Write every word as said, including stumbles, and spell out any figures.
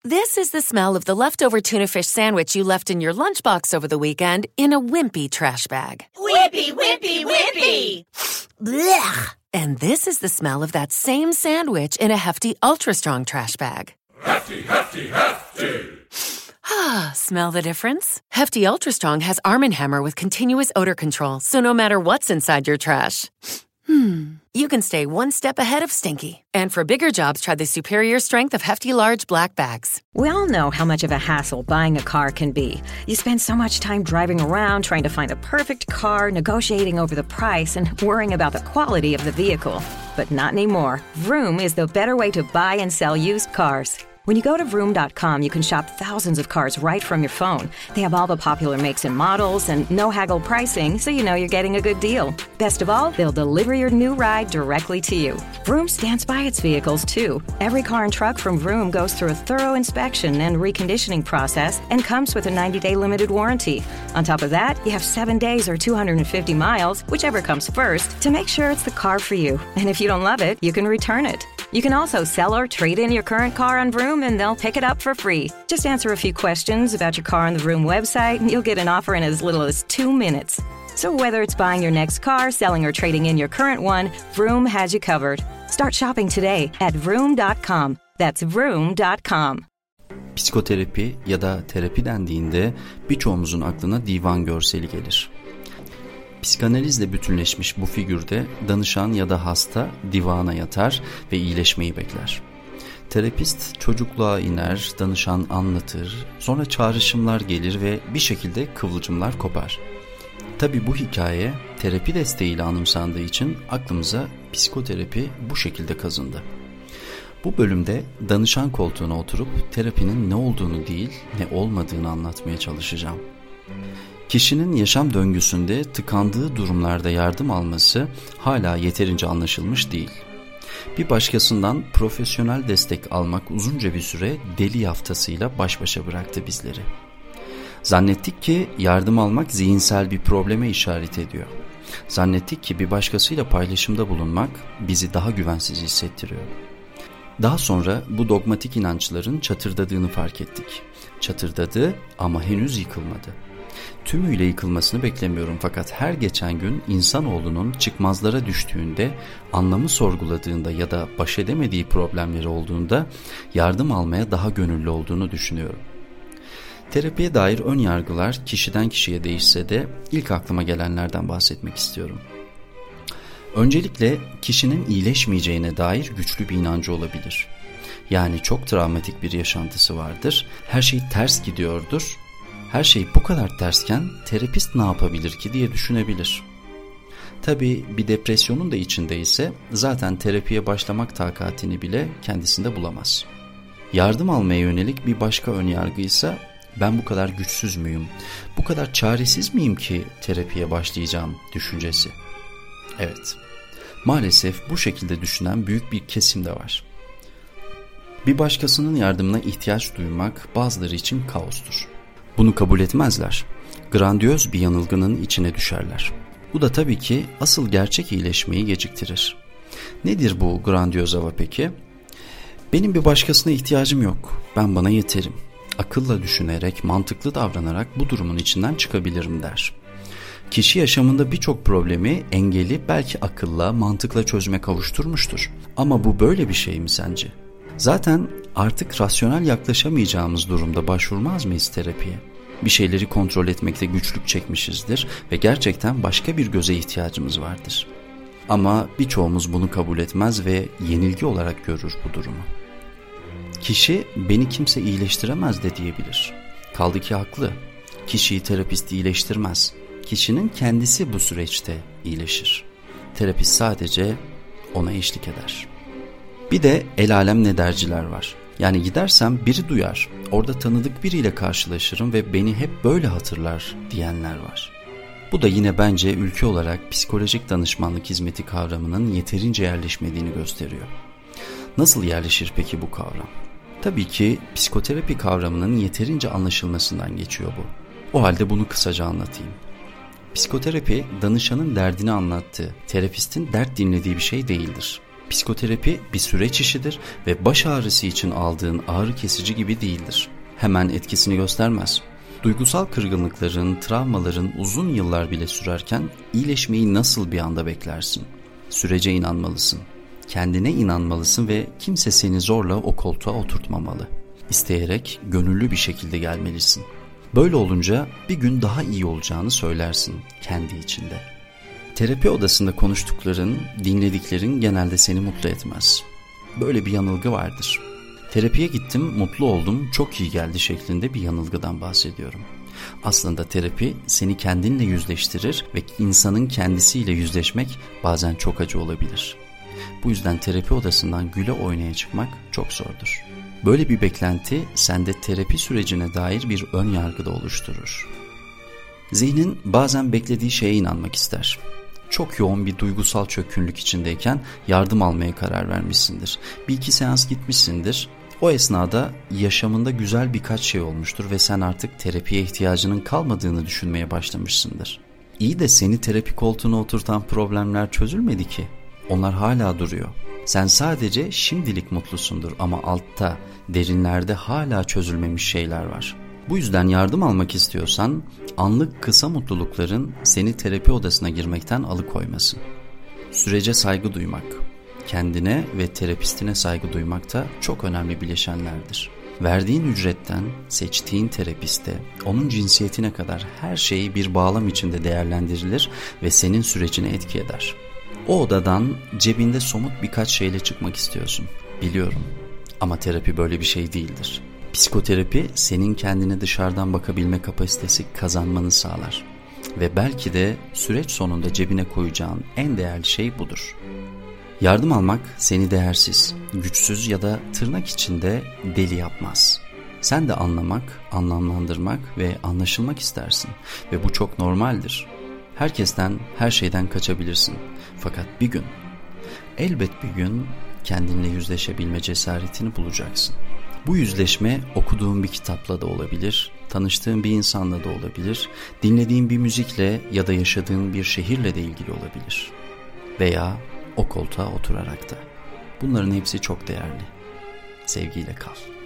This is the smell of the leftover tuna fish sandwich you left in your lunchbox over the weekend in a wimpy trash bag. Wimpy, wimpy, wimpy! Blech! And this is the smell of that same sandwich in a Hefty Ultra Strong trash bag. Hefty, Hefty, Hefty! Ah, smell the difference? Hefty Ultra Strong has Arm and Hammer with continuous odor control, so no matter what's inside your trash, hmm, you can stay one step ahead of stinky. And for bigger jobs, try the superior strength of Hefty Large Black Bags. We all know how much of a hassle buying a car can be. You spend so much time driving around trying to find the perfect car, negotiating over the price, and worrying about the quality of the vehicle. But not anymore. Vroom is the better way to buy and sell used cars. When you go to vroom dot com, you can shop thousands of cars right from your phone. They have all the popular makes and models and no haggle pricing, so you know you're getting a good deal. Best of all, they'll deliver your new ride directly to you. Vroom stands by its vehicles, too. Every car and truck from Vroom goes through a thorough inspection and reconditioning process and comes with a ninety-day limited warranty. On top of that, you have seven days or two hundred fifty miles, whichever comes first, to make sure it's the car for you. And if you don't love it, you can return it. You can also sell or trade in your current car on Vroom, and they'll pick it up for free. Just answer a few questions about your car on the Vroom website, and you'll get an offer in as little as two minutes. So whether it's buying your next car, selling, or trading in your current one, Vroom has you covered. Start shopping today at vroom dot com. That's vroom dot com. Psikoterapi ya da terapi dendiğinde birçoğumuzun aklına divan görseli gelir. Psikanalizle bütünleşmiş bu figürde danışan ya da hasta divana yatar ve iyileşmeyi bekler. Terapist çocukluğa iner, danışan anlatır, sonra çağrışımlar gelir ve bir şekilde kıvılcımlar kopar. Tabii bu hikaye terapi desteğiyle anımsandığı için aklımıza psikoterapi bu şekilde kazındı. Bu bölümde danışan koltuğuna oturup terapinin ne olduğunu değil, ne olmadığını anlatmaya çalışacağım. Kişinin yaşam döngüsünde tıkandığı durumlarda yardım alması hala yeterince anlaşılmış değil. Bir başkasından profesyonel destek almak uzunca bir süre deli yaftasıyla baş başa bıraktı bizleri. Zannettik ki yardım almak zihinsel bir probleme işaret ediyor. Zannettik ki bir başkasıyla paylaşımda bulunmak bizi daha güvensiz hissettiriyor. Daha sonra bu dogmatik inançların çatırdadığını fark ettik. Çatırdadı ama henüz yıkılmadı. Tümüyle yıkılmasını beklemiyorum fakat her geçen gün insanoğlunun çıkmazlara düştüğünde, anlamı sorguladığında ya da baş edemediği problemleri olduğunda yardım almaya daha gönüllü olduğunu düşünüyorum. Terapiye dair ön yargılar kişiden kişiye değişse de ilk aklıma gelenlerden bahsetmek istiyorum. Öncelikle kişinin iyileşmeyeceğine dair güçlü bir inancı olabilir. Yani çok travmatik bir yaşantısı vardır, her şey ters gidiyordur. Her şey bu kadar tersken terapist ne yapabilir ki diye düşünebilir. Tabii bir depresyonun da içindeyse zaten terapiye başlamak takatini bile kendisinde bulamaz. Yardım almaya yönelik bir başka önyargıysa ben bu kadar güçsüz müyüm, bu kadar çaresiz miyim ki terapiye başlayacağım düşüncesi. Evet, maalesef bu şekilde düşünen büyük bir kesim de var. Bir başkasının yardımına ihtiyaç duymak bazıları için kaostur. Bunu kabul etmezler. Grandiyoz bir yanılgının içine düşerler. Bu da tabii ki asıl gerçek iyileşmeyi geciktirir. Nedir bu grandiyoz hava peki? Benim bir başkasına ihtiyacım yok. Ben bana yeterim. Akılla düşünerek, mantıklı davranarak bu durumun içinden çıkabilirim der. Kişi yaşamında birçok problemi, engeli belki akılla, mantıkla çözüme kavuşturmuştur. Ama bu böyle bir şey mi sence? Zaten artık rasyonel yaklaşamayacağımız durumda başvurmaz mıyız terapiye? Bir şeyleri kontrol etmekte güçlük çekmişizdir ve gerçekten başka bir göze ihtiyacımız vardır. Ama birçoğumuz bunu kabul etmez ve yenilgi olarak görür bu durumu. Kişi beni kimse iyileştiremez de diyebilir. Kaldı ki haklı. Kişiyi terapist iyileştirmez. Kişinin kendisi bu süreçte iyileşir. Terapist sadece ona eşlik eder. Bir de el alem ne derciler var. Yani gidersem biri duyar, orada tanıdık biriyle karşılaşırım ve beni hep böyle hatırlar diyenler var. Bu da yine bence ülke olarak psikolojik danışmanlık hizmeti kavramının yeterince yerleşmediğini gösteriyor. Nasıl yerleşir peki bu kavram? Tabii ki psikoterapi kavramının yeterince anlaşılmasından geçiyor bu. O halde bunu kısaca anlatayım. Psikoterapi danışanın derdini anlattığı, terapistin dert dinlediği bir şey değildir. Psikoterapi bir süreç işidir ve baş ağrısı için aldığın ağrı kesici gibi değildir. Hemen etkisini göstermez. Duygusal kırgınlıkların, travmaların uzun yıllar bile sürerken iyileşmeyi nasıl bir anda beklersin? Sürece inanmalısın. Kendine inanmalısın ve kimse seni zorla o koltuğa oturtmamalı. İsteyerek, gönüllü bir şekilde gelmelisin. Böyle olunca bir gün daha iyi olacağını söylersin kendi içinde. Terapi odasında konuştukların, dinlediklerin genelde seni mutlu etmez. Böyle bir yanılgı vardır. Terapiye gittim, mutlu oldum, çok iyi geldi şeklinde bir yanılgıdan bahsediyorum. Aslında terapi seni kendinle yüzleştirir ve insanın kendisiyle yüzleşmek bazen çok acı olabilir. Bu yüzden terapi odasından güle oynaya çıkmak çok zordur. Böyle bir beklenti sende terapi sürecine dair bir ön yargı da oluşturur. Zihnin bazen beklediği şeye inanmak ister. Çok yoğun bir duygusal çökünlük içindeyken yardım almaya karar vermişsindir. Bir iki seans gitmişsindir. O esnada yaşamında güzel birkaç şey olmuştur ve sen artık terapiye ihtiyacının kalmadığını düşünmeye başlamışsındır. İyi de seni terapi koltuğuna oturtan problemler çözülmedi ki. Onlar hala duruyor. Sen sadece şimdilik mutlusundur ama altta, derinlerde hala çözülmemiş şeyler var. Bu yüzden yardım almak istiyorsan anlık kısa mutlulukların seni terapi odasına girmekten alıkoymasın. Sürece saygı duymak, kendine ve terapistine saygı duymak da çok önemli bileşenlerdir. Verdiğin ücretten, seçtiğin terapiste, onun cinsiyetine kadar her şeyi bir bağlam içinde değerlendirilir ve senin sürecine etki eder. O odadan cebinde somut birkaç şeyle çıkmak istiyorsun. Biliyorum ama terapi böyle bir şey değildir. Psikoterapi senin kendine dışarıdan bakabilme kapasitesi kazanmanı sağlar. Ve belki de süreç sonunda cebine koyacağın en değerli şey budur. Yardım almak seni değersiz, güçsüz ya da tırnak içinde deli yapmaz. Sen de anlamak, anlamlandırmak ve anlaşılmak istersin. Ve bu çok normaldir. Herkesten, her şeyden kaçabilirsin. Fakat bir gün, elbet bir gün kendinle yüzleşebilme cesaretini bulacaksın. Bu yüzleşme okuduğun bir kitapla da olabilir, tanıştığın bir insanla da olabilir, dinlediğin bir müzikle ya da yaşadığın bir şehirle de ilgili olabilir. Veya o koltuğa oturarak da. Bunların hepsi çok değerli. Sevgiyle kal.